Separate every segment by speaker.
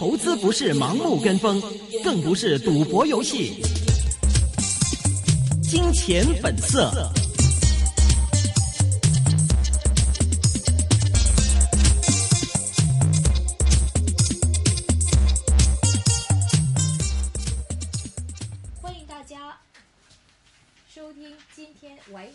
Speaker 1: 投资不是盲目跟风，更不是赌博游戏。金钱本色。
Speaker 2: 欢迎大家收听今天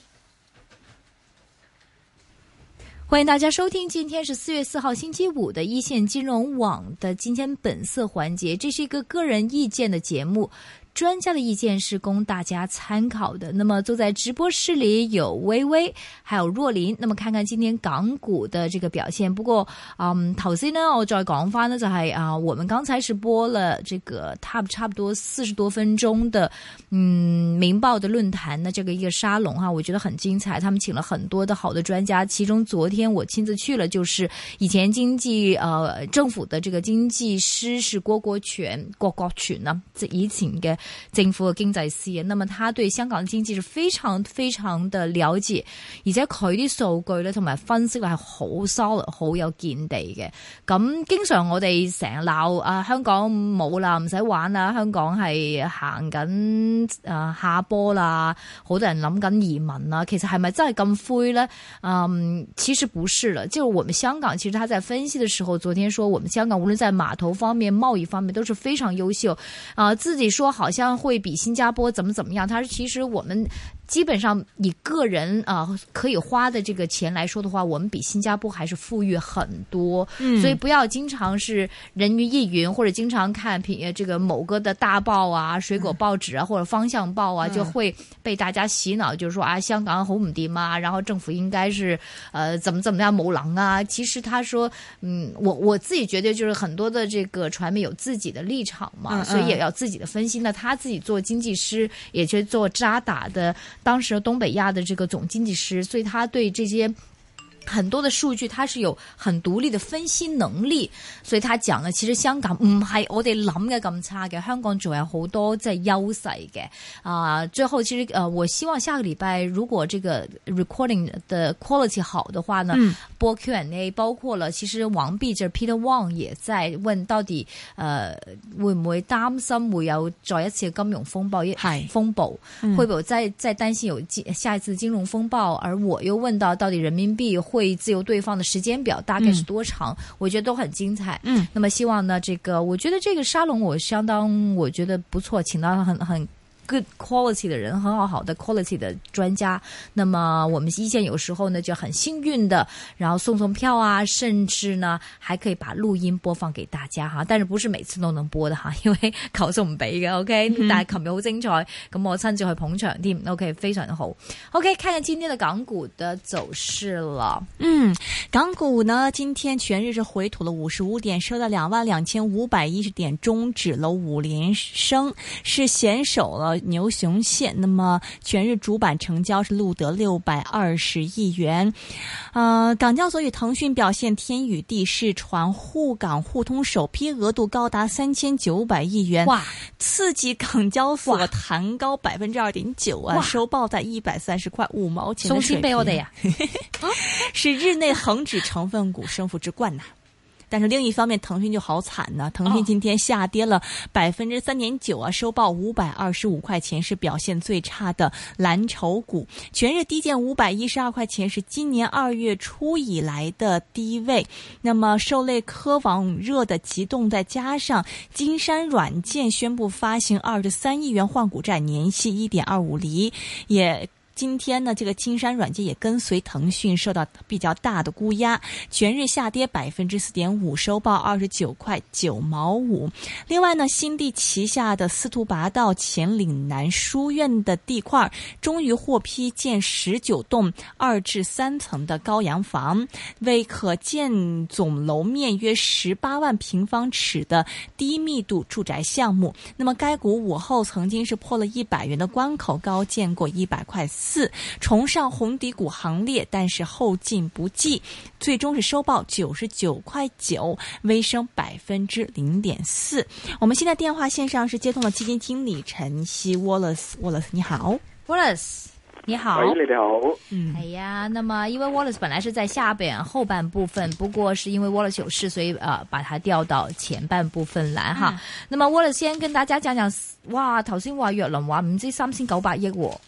Speaker 2: 欢迎大家收听，今天是4月4号星期五的一线金融网的今天本色环节。这是一个个人意见的节目，专家的意見是供大家參考的。那麼坐在直播室裏有微微還有若琳，那麼看看今天港股的這個表現。不過頭先呢我再講翻呢就係我們剛才是播了這個差不多40多分鐘的明報的論壇的這個一個沙龍哈，我覺得很精彩，他們請了很多的好的專家，其中昨天我親自去了，就是以前政府的這個經濟師是郭國全啊，以前嘅政府嘅經濟師啊，那麼他對香港嘅經濟是非常非常的了解，而且佢啲數據咧同埋分析咧係好 solid 好有見地嘅。咁經常我哋成日鬧香港冇啦，唔使玩啦，香港係行緊下坡啦，好多人諗緊移民啦，其實係咪真係咁灰咧？其實不是了，就我們香港其實他在分析的時候，昨天說我們香港無論在碼頭方面、貿易方面都是非常優秀自己說好像會比新加坡怎麼樣，他說其實我們基本上以個人可以花的這個錢來說的話，我們比新加坡還是富裕很多，所以不要經常是人云亦云，或者經常看這個某個的大報啊、水果報紙啊或者方向報啊，就會被大家洗腦，就是說香港好唔掂啊，然後政府應該是怎麼樣冇能啊。其實他說我自己覺得就是很多的這個傳媒有自己的立場嘛，所以也要自己的分析。那他自己做經濟師，也去做渣打的當時東北亞的這個總經濟師，所以他對這些很多的數據他是有很獨立的分析能力，所以他講了其實香港唔係我哋諗嘅咁差嘅，香港仲有好多即係優勢嘅最後其實我希望下個禮拜如果這個 recording 的 quality 好的話呢，播 Q&A 包括了其實王弼就是 Peter Wong 也在問到底會唔會擔心會有再一次金融風暴會不會再擔心有下一次金融風暴，而我又問到底人民幣會自由兌放的時間表大概是多長，我覺得都很精彩。那麼希望呢我覺得這個沙龍我覺得不錯，請到很good quality 的人，很好的 quality 的專家。那麼我們一線有時候呢就很幸運的，然後送票啊，甚至呢還可以把錄音播放給大家哈，但是不是每次都能播的哈，因為球數唔俾嘅 OK，但係琴日好精彩，咁我親自去捧場添 OK， 非常好 OK。 看看今天的港股的走勢了。
Speaker 3: 港股呢今天全日是回吐了55點，收到22,510點，終止了5連升，是險守了牛熊線。那麼全日主板成交是錄得620億元。港交所與騰訊表現天與地，市傳滬港互通首批額度高達3900億元，哇！刺激港交所彈高2.9%啊，收報在130塊5毛錢的水平。送錢俾我哋啊！是日內恒指成分股升幅之冠呐。但是另一方面，騰訊就好慘呢。騰訊今天下跌了3.9%啊，收報525塊錢，是表現最差的藍籌股。全日低見512塊錢，是今年2月初以來的低位。那麼受累科網熱的急凍，再加上金山軟件宣布發行23億元換股債，年息1.25厘，也今天呢，這個金山軟件也跟隨騰訊受到比較大的沽壓，全日下跌4.5%，收報29塊9毛5。另外呢，新地旗下的司徒拔道前嶺南書院的地塊終於獲批建19棟2至3層的高洋房，為可建總樓面約18萬平方尺的低密度住宅項目。那麼該股午後曾經是破了100元的關口，高見過100塊4，重上紅底股行列，但是後勁不濟，最終是收報99塊9，微升0.4%。我們現在電話線上是接通了基金經理陳昕 Wallace， 你好
Speaker 2: Wallace。 你好。
Speaker 4: 喂，你哋好。
Speaker 2: 哎呀，那麼因為 Wallace 本來是在下邊後半部分，不過是因為 Wallace 有事，所以把它調到前半部分來哈。那麼 Wallace 先跟大家講講，哇，頭先話若琳話唔知3900億喎。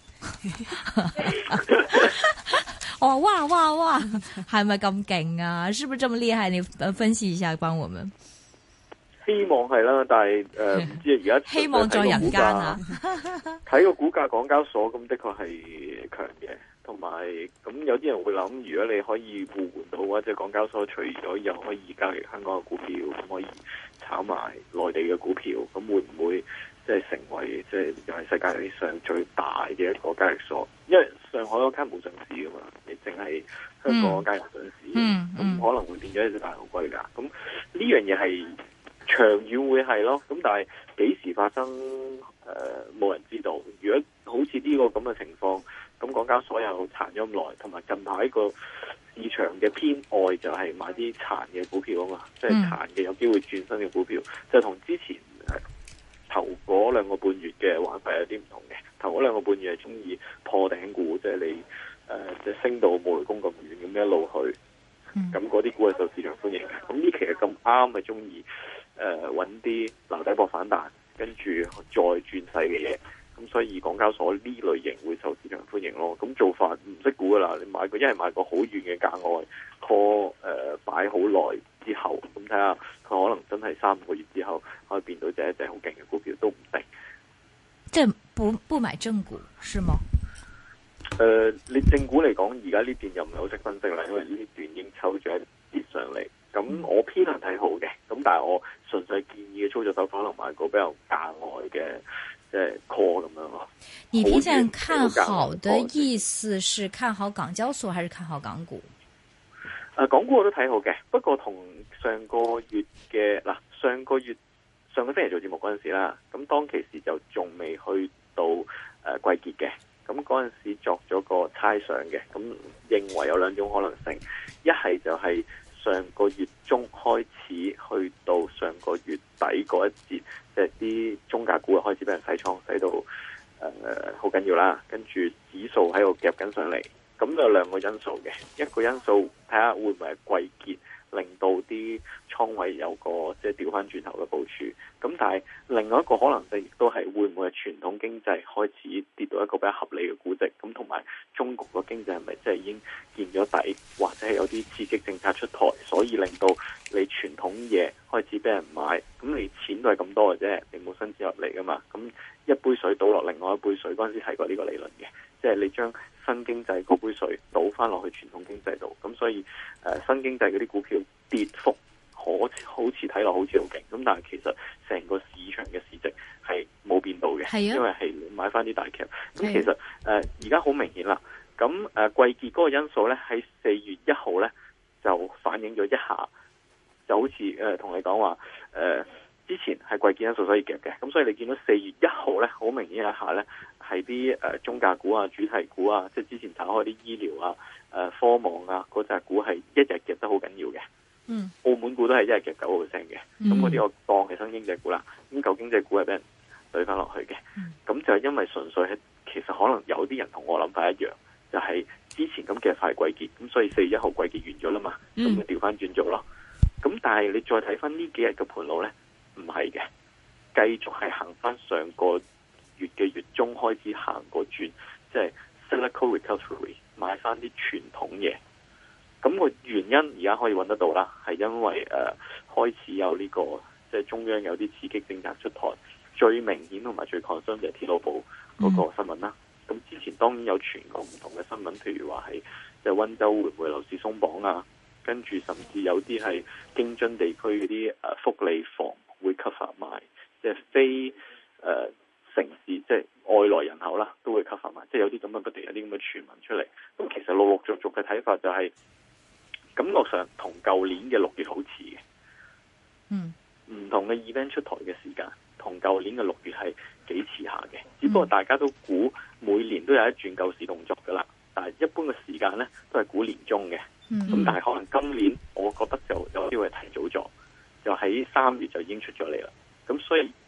Speaker 2: 哦，哇，係咪咁勁啊？是不是這麼厲害？你分析一下，幫我們。
Speaker 4: 希望係啦，但係唔知而家
Speaker 2: 希望在人間啊！
Speaker 4: 睇個股價，港交所咁的確係強嘅，同埋咁有啲人會諗，如果你可以互換到或者港交所除咗又可以交易香港嘅股票，咁可以炒埋內地嘅股票，咁會唔會即係成為即係又係世界上最大嘅一個交易所？因為上海嗰間冇上市噶嘛，你淨係香港嗰間有上市，咁可能會變咗一隻大牛龜㗎。咁呢樣嘢係長遠會係咯，咁但係幾時發生冇人知道。如果好似呢個咁嘅情況，咁港交所又殘咗咁耐，同埋近排個市場嘅偏愛就係買啲殘嘅股票啊嘛，即係殘嘅有機會轉身嘅股票，就同之前頭嗰2個半月嘅玩法有啲唔同嘅。頭嗰2個半月係中意破頂股，即係你即係升到冇雷公咁遠咁一路去，咁嗰啲股係受市場歡迎嘅。咁呢期係咁啱係中意揾啲留底搏反彈，跟住再轉勢嘅嘢，咁所以港交所呢類型會受市場歡迎咯。咁做法唔識估噶啦，你買個一係買個好遠嘅價外 call 擺好耐之後，咁睇下佢可能真係3-5個月之後可以變到一隻好勁嘅股票都唔定。
Speaker 2: 即係不買正股是嗎？
Speaker 4: 你正股嚟講，而家呢段又唔係好識分析啦，因為呢段已經抽咗一跌上嚟。咁我偏向睇好嘅，咁但係我純粹建議嘅操作手法可能買個比較價外嘅，即係 call 咁樣咯。
Speaker 2: 你偏向看好的意思是看好港交所還是看好港股？
Speaker 4: 港股我都睇好嘅，不過同上個月嘅上個星期做節目嗰陣時啦，咁當其時就仲未去到季結嘅，咁嗰陣時作咗個猜想嘅，咁認為有2種可能性，一係就係上個月中開始去到上個月底嗰一節，即係啲中價股開始俾人洗倉，洗到好緊要啦，跟住指數喺度夾緊上嚟，咁有2個因素嘅，一個因素睇下會唔會係季結令到啲倉位有個即係調翻轉頭嘅部署，咁但係另外一個可能性亦都係會唔會係傳統經濟開始跌到一個比較合理嘅估值，咁同埋中國個經濟係咪即係已經見咗底，或者係有啲刺激政策出台，所以令到你傳統嘢開始俾人買，咁你錢都係咁多嘅啫，你冇新錢入嚟噶嘛，咁一杯水倒落另外一杯水，嗰陣時提過呢個理論嘅，即係你將新經濟嗰杯水倒翻落去傳統經濟度，咁所以新經濟嗰啲股票跌幅好似睇落好似好勁，咁但係其實成個市場嘅市值係冇變到嘅，因為係買翻啲大劇。咁其實而家好明顯啦，咁季結嗰個因素咧喺4月1號咧就反映咗一下，就好似同你講話之前係季結因素所以夾嘅，咁所以你見到4月1號咧好明顯一下咧係啲中價股啊、主題股啊，即係之前炒開啲醫療啊、科網啊嗰隻股係一日夾得好緊要嘅。澳門股都係一日夾9%嘅，咁嗰啲我當係新經濟股啦，咁舊經濟股係俾人對翻落去嘅，咁就係因為純粹係其實可能有啲人同我諗法一樣，就係之前咁夾快季結，咁所以4月1號季結完咗啦嘛，咁就調翻轉做咯。咁但係你再睇翻呢幾日嘅盤路咧，唔係嘅，繼續係行翻上個月嘅月中開始行個轉，即係 cyclical recovery 買翻啲傳統嘢。咁個原因而家可以揾得到啦，係因為開始有呢個即係中央有啲刺激政策出台，最明顯同埋最 concern 就係鐵路部嗰個新聞啦。咁之前當然有傳過唔同嘅新聞，譬如話係即係溫州會唔會樓市鬆綁啊，跟住甚至有啲係京津地區嗰啲福利房會 cover 埋，即係非城市即係外來人口啦，都會 cover 埋，即係有啲咁嘅不斷有啲咁嘅傳聞出嚟。咁其實陸陸續續嘅睇法就係感覺上同舊年嘅6月好似嘅，唔同嘅 event 出台嘅時間同舊年嘅6月係幾似下嘅，只不過大家都估每年都有一轉救市動作噶啦，但係一般嘅時間呢都係估年中嘅，咁但係可能今年我覺得就有機會提早咗，就喺3月就已經出咗嚟啦，咁所以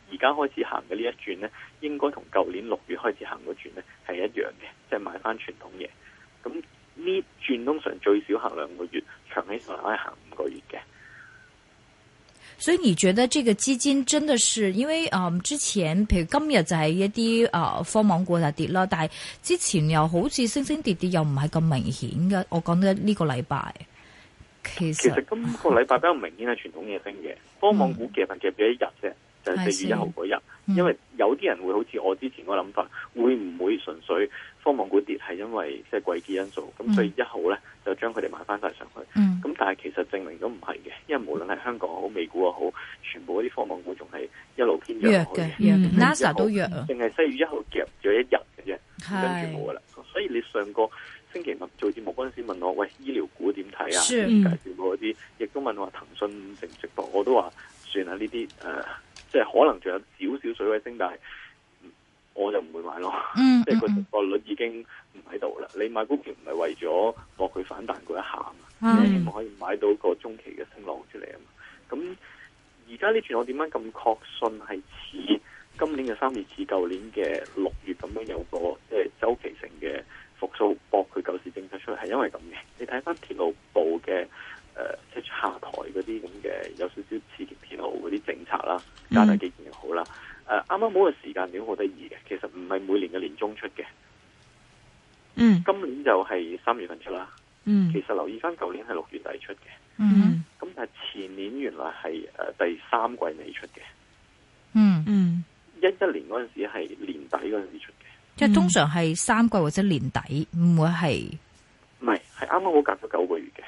Speaker 4: 而家開始行嘅呢一轉呢，應該同舊年6月開始行嗰轉呢係一樣嘅，即係買翻傳統嘢。咁呢轉通常最少行2個月，長起上嚟可以行5個月嘅。
Speaker 2: 所以你覺得這個基金真的是因為之前譬如今日就係一啲科網股就跌啦，但係之前又好似升升跌跌又唔係咁明顯嘅。我講得呢個禮拜其實
Speaker 4: 今個禮拜比較明顯係傳統嘢升嘅，科網股夾咗一日啫，就係4月1號嗰日。因為有啲人會好似我之前個諗法，會唔會純粹科網股跌係因為即係季節因素？咁所以1號咧就將佢哋買翻晒上去。咁但係其實證明都唔係嘅，因為無論係香港好、美股又好，全部嗰啲科網股仲係一路偏弱嘅。
Speaker 2: NASA 都弱啊，
Speaker 4: 淨係4月1號夾咗一日嘅啫，跟住冇噶啦。所以你上個星期五做節目嗰陣時問我，喂，醫療股點睇啊？介紹過嗰啲，亦都問我話騰訊值唔值博，我都話算啦，呢啲即係可能仲有少少水位升，但係我就唔會買咯。即係個值博率已經唔喺度啦。你買股票唔係為咗博佢反彈嗰一下嘛，你希望可以買到個中期嘅升浪出嚟啊嘛。咁而家呢段我點解咁確信係似今年嘅3月似舊年嘅6月咁樣有個即係周期性嘅復甦，博佢救市政策出嚟，係因為咁嘅。你睇翻鐵路部嘅即係下台嗰啲咁嘅有少少刺激鐵路嗰啲政策啦，加大基建又好啦。啱啱好嘅時間點好得意嘅，其實唔係每年嘅年中出嘅。今年就係3月份出啦。其實留意翻舊年係6月底出嘅。咁但係前年原來係第3季尾出嘅。11年嗰陣時係年底嗰陣時出嘅。
Speaker 2: 即係通常係3季或者年底，唔會係
Speaker 4: 唔係啱啱好隔咗9個月嘅。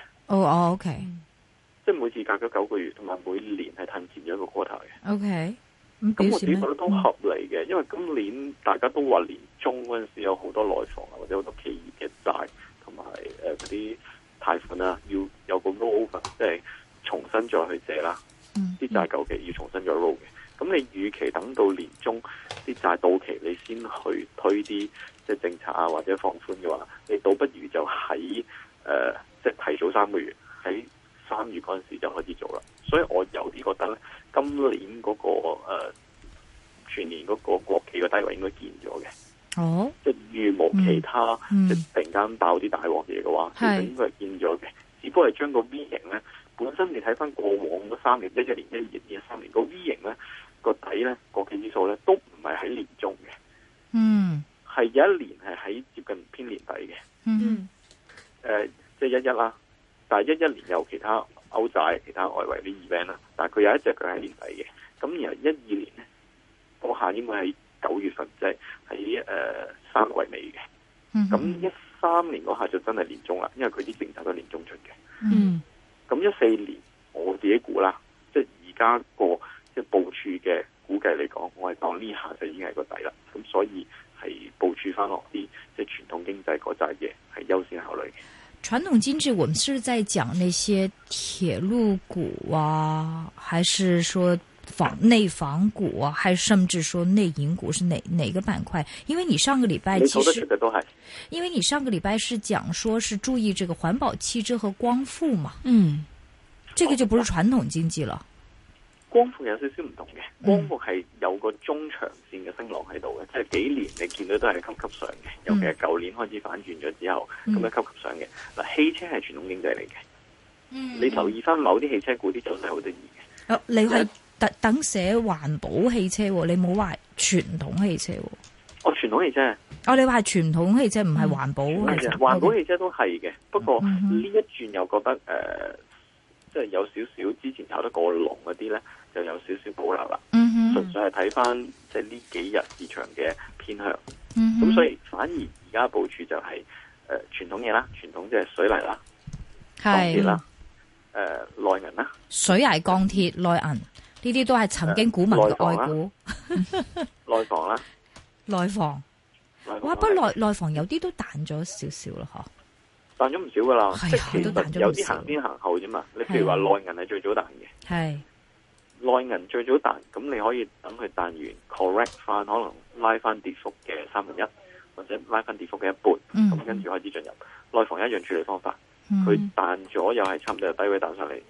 Speaker 2: OK，
Speaker 4: 即係每次隔咗9個月，同埋每年係褪前咗一個 quarter 嘅。
Speaker 2: OK，
Speaker 4: 咁我自己覺得都合理嘅，因為今年大家都話年中嗰陣時有好多內房啊，或者好多企業嘅債同埋嗰啲貸款啊，要有個 roll over， 即係重新再去借啦。啲債舊期要重新再 roll 嘅。咁你與其等到年中啲債到期，你先去推啲即係政策啊或者放寬嘅話，你倒不如就喺即係提早3個月喺3月嗰陣時就開始做啦。所以我有啲覺得咧，今年嗰個全年嗰個國企嘅低位應該見咗嘅。即係如無其他即係突然間爆啲大鑊嘢嘅話，其實應該係見咗嘅。只不過係將個 V 型咧，本身你睇翻過往嗰3年，11年、12年、13年個 V 型咧，個底咧國企指數咧都唔係喺年中嘅。係有一年係喺接近偏年底嘅。即係11啦，但係11年有其他歐債、其他外圍啲 event 啦，但係佢有一隻佢喺年底嘅。咁然後12年咧，嗰下應該係9月份，即係喺3季尾嘅。咁13年嗰下就真係年中啦，因為佢啲政策都係年中出嘅。咁14年我自己估啦，即係而家個即係部署嘅估計嚟講，我係當呢下就已經係個底啦。咁所以係部署翻落啲即係傳統經濟嗰扎嘢係優先考慮嘅。
Speaker 2: 傳統經濟，我們是在講那些鐵路股啊，還是說內房股啊，還是甚至說內銀股是哪個板塊？因為你上個禮拜其實，因為你上個禮拜是講說是注意這個環保汽車和光伏嘛，這個就不是傳統經濟了。
Speaker 4: 光伏有少少唔同嘅，光伏係有個中長線嘅升浪喺度嘅，即係幾年你見到都係級級上嘅，尤其係舊年開始反轉咗之後，咁樣級級上嘅。嗱，汽車係傳統經濟嚟嘅，你留意翻某啲汽車股啲走勢好得意嘅。
Speaker 2: 你係特登寫環保汽車，你冇話傳統汽車。
Speaker 4: 傳統汽車。
Speaker 2: 你話係傳統汽車唔係環保汽車。
Speaker 4: 環保汽車都係嘅，不過呢一轉又覺得即係有少少之前炒得過龍嗰啲咧，就有少少保留啦。純粹係睇翻即係呢幾日市場嘅偏向。咁所以反而而家部署就係傳統嘢啦，傳統即係水泥啦、鋼鐵啦、內銀啦。水泥、鋼鐵、內銀
Speaker 2: 呢啲都係曾經股民嘅愛股。
Speaker 4: 內房啦，
Speaker 2: 內房。哇！不過內房有啲都彈咗少少啦，嗬。
Speaker 4: 彈咗唔少噶啦，即係其實有啲行先行後啫嘛。你譬如話內銀係最早彈嘅，係內銀最早彈，咁你可以等佢彈完 correct 翻，可能拉翻跌幅嘅1/3，或者拉翻跌幅嘅1半，咁跟住開始進入內房一樣處理方法。佢彈咗又係差唔多由低位彈上嚟，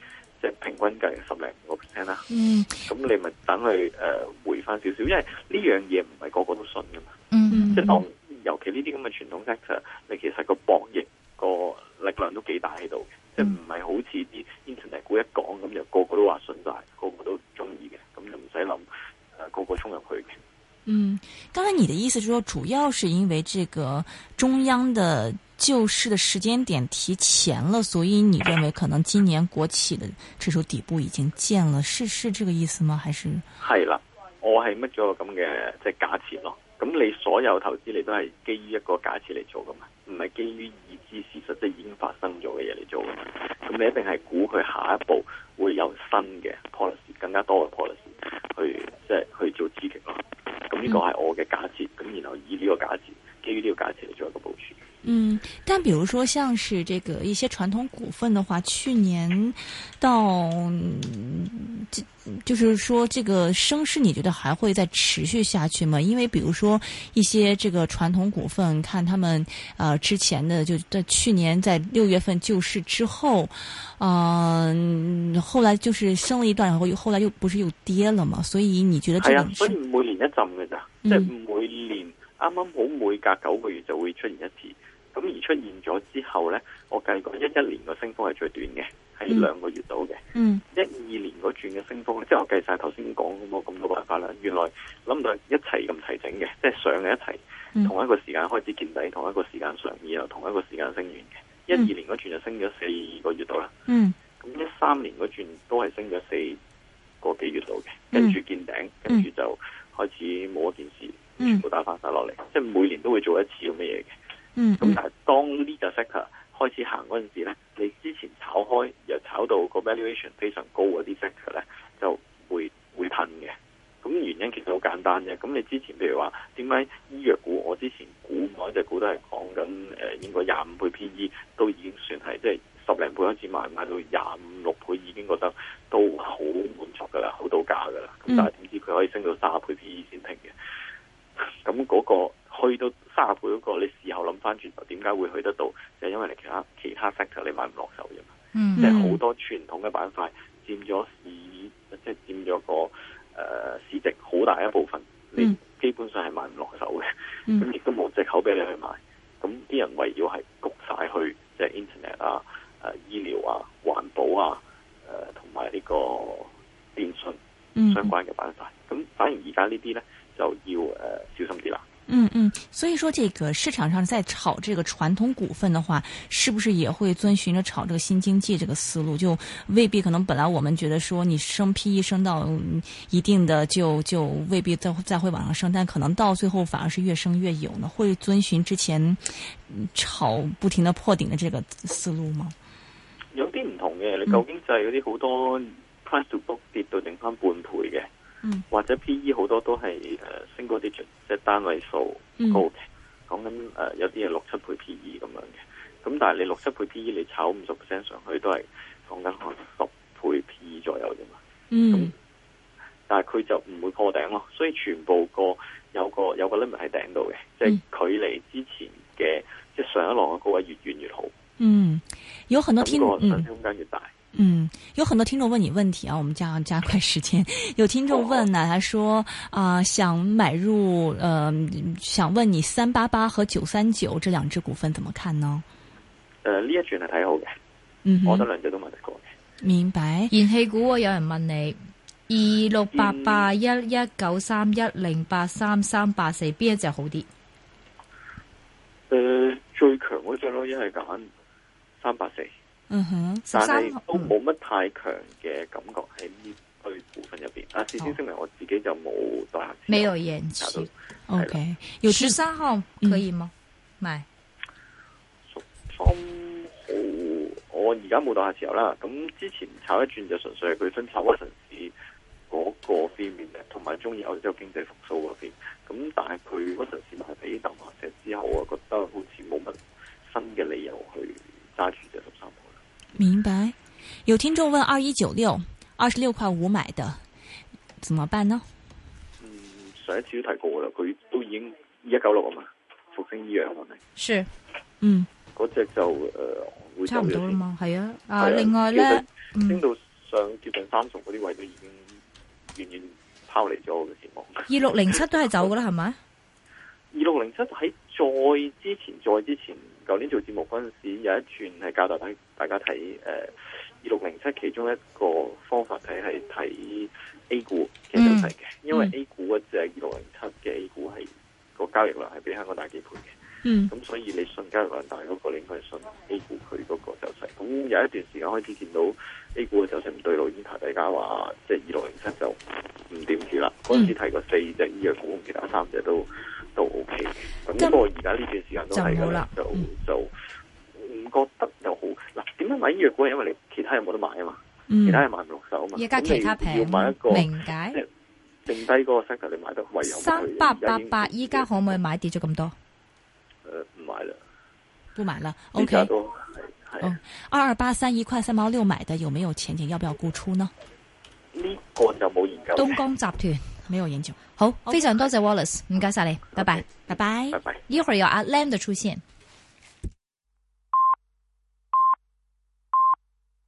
Speaker 4: 即係平均計10-15% 啦。
Speaker 2: 嗯，
Speaker 4: 咁你咪等佢回翻少少，因為呢樣嘢唔係個個都信噶嘛。
Speaker 2: 嗯，
Speaker 4: 即係當尤其呢啲咁嘅傳統 sector，你其實個博弈個力量都幾大喺度嘅，即係唔係好似啲 internet 股一講咁就個個都話信晒，個個都中意嘅，咁就唔使諗個個衝入去嘅。
Speaker 3: 嗯，剛才你的意思是說，主要是因為這個中央的救市的時間點提前了，所以你認為可能今年國企的指數底部已經見了，是這個意思嗎？還是？
Speaker 4: 係啦，我係乜咗個咁嘅即係假設咯。咁你所有投資你都係基於一個假設嚟做噶嘛，唔係基於已知事實，即係已經發生咗嘅嘢嚟做噶嘛。咁你一定係估佢下一步會有新嘅 policy， 更加多嘅 policy 去即係去做刺激咯。咁呢個係我嘅假設，咁然後以呢個假設，基於呢個假設嚟做一個部署。
Speaker 3: 嗯，但比如說像是這個一些傳統股份的話，去年到就是說這個升勢，你覺得還會再持續下去嗎？因為比如說一些這個傳統股份，看他們之前的就在去年在6月份救市之後，後來就是升了一段，然後後來又不是又跌了嘛？所以你覺得這個
Speaker 4: 係啊，所以每年一浸嘅咋，即係每年啱啱好每隔9個月就會出現一次。咁而出現咗之後呢，我計過11年個升幅係最短嘅，係2個月到嘅。12年嗰轉嘅升幅呢，即係我計晒頭先講咁多辦法啦。原來諗唔到一齊咁齊整嘅，即係上嘅一齊，同一個時間開始見底，同一個時間上，然後同一個時間升完嘅。12年嗰轉就升咗4個月到啦。咁13年嗰轉都係升咗4個幾月到嘅，跟住見頂，跟住就開始冇一件事，全部打翻晒落嚟。即係每年都會做一次咁嘅嘢嘅。咁但係當呢個 sector 開始行嗰陣時咧，你之前炒開又炒到個 valuation 非常高嗰啲 sector 咧，就會褪嘅。咁原因其實好簡單啫。咁你之前譬如話點解醫藥股，我之前估某一隻股都係講緊應該25倍 PE 都已經算係即係10零倍開始買到25-26倍已經覺得都好滿足噶啦，好到價噶啦。咁但係點知佢可以升到30倍 PE 先停嘅？咁嗰個去到30倍嗰個，你事後諗翻轉頭，點解會去得到？就係因為你其他 sector 你買唔落手啫嘛。即係好多傳統嘅板塊佔咗市，即係佔咗個市值好大一部分，你基本上係買唔落手嘅。咁亦都冇藉口俾你去買。咁啲人圍繞係焗晒去，即係 internet 啊、醫療啊、環保啊、同埋呢個電信相關嘅板塊。咁反而而家呢啲咧就要小心啲啦。
Speaker 3: 所以說這個市場上在炒這個傳統股份的話，是不是也會遵循着炒這個新經濟這個思路？就未必可能本來我們覺得說你升 PE 升到一定的就未必再會往上升，但可能到最後反而是越升越有呢？會遵循之前炒不停的破頂的這個思路嗎？
Speaker 4: 有啲唔同嘅，你舊經濟嗰啲好多 price to book 跌到剩翻半倍嘅。或者 PE 好多都係single digit，即係單位數高嘅，講緊有啲係6-7倍 PE 咁樣嘅。咁但係你6-7倍 PE 你炒50% 上去都係講緊可能10倍 PE 左右啫嘛。咁但係佢就唔會破頂咯，所以全部有個 limit 喺頂度嘅，即係距離之前嘅即係上一浪嘅高位越遠越好。
Speaker 3: 有很多聽眾
Speaker 4: 上升空間越大。
Speaker 3: 有很多聽眾問你問題啊，我們加快時間。有聽眾問呢，他說想買入，想問你388和939這兩隻股份怎麼看呢？
Speaker 4: 呢一轉係睇好嘅，我覺得兩隻都買得過嘅。
Speaker 3: 明白。
Speaker 2: 燃氣股有人問你2688、11931、083、384邊一隻好啲？
Speaker 4: 最強嗰隻咯，一係揀384。但係都冇乜太強嘅感覺喺呢堆股份入邊。事先聲明我自己就冇代客，
Speaker 2: 沒有延期。
Speaker 3: OK，有
Speaker 2: 13號可以嗎？買
Speaker 4: 13號我而家冇代客持有啦。咁之前炒一轉就純粹係佢分炒屈臣氏嗰個方面嘅，同埋中意歐洲經濟復甦嗰邊。咁但係佢屈臣氏賣俾鄧華石之後，我覺得好似冇乜新嘅理由去揸住隻13號。
Speaker 3: 明白。有聽眾問2196 26.5買的怎麼辦呢？
Speaker 4: 上一次都提過啦，佢都已經2196啊嘛，復星醫藥係咪？
Speaker 2: 是，
Speaker 4: 嗰隻就會
Speaker 2: 差唔多啦嘛，係啊。另外咧，
Speaker 4: 升到上接近30嗰啲位都已經遠遠拋離咗我嘅期望。
Speaker 2: 2607都係走噶啦，係咪
Speaker 4: ？2607喺再之前，舊年做節目嗰陣時有一轉係教大家睇2607，其中一個方法睇係睇 A 股嘅走勢嘅，因為 A 股嗰隻2607嘅 A 股係個交易量係比香港大幾倍嘅，咁所以你信交易量大嗰個，你應該係信 A 股佢嗰個走勢。咁有一段時間開始見到 A 股嘅走勢唔對路，已經提大家話即係2607就唔掂住啦。嗰陣時提過4隻醫藥股，其他3隻都 OK 嘅。咁不過而家呢段時間都係㗎啦，就唔覺得又好嗱。點樣買醫藥股？係因為你其他有冇得買啊嘛？其他係買唔落手啊嘛。
Speaker 2: 而家其他平，
Speaker 4: 要買一個
Speaker 2: 明解。
Speaker 4: 剩低嗰個 sector 你買得唯有
Speaker 2: 3888，依家可唔可以買跌咗咁多？
Speaker 4: 唔買啦，
Speaker 3: 不買了。OK。
Speaker 4: 係。
Speaker 3: 2283 1.3毛6買的有沒有前景？要不要沽出呢？
Speaker 4: 呢個就冇研究。
Speaker 2: 東江集團
Speaker 3: 沒有研究。
Speaker 2: 好，非常多謝 Wallace，唔該晒你，拜拜，
Speaker 3: 拜拜，
Speaker 4: 拜拜。
Speaker 2: 一會兒有阿 Lam 的出現。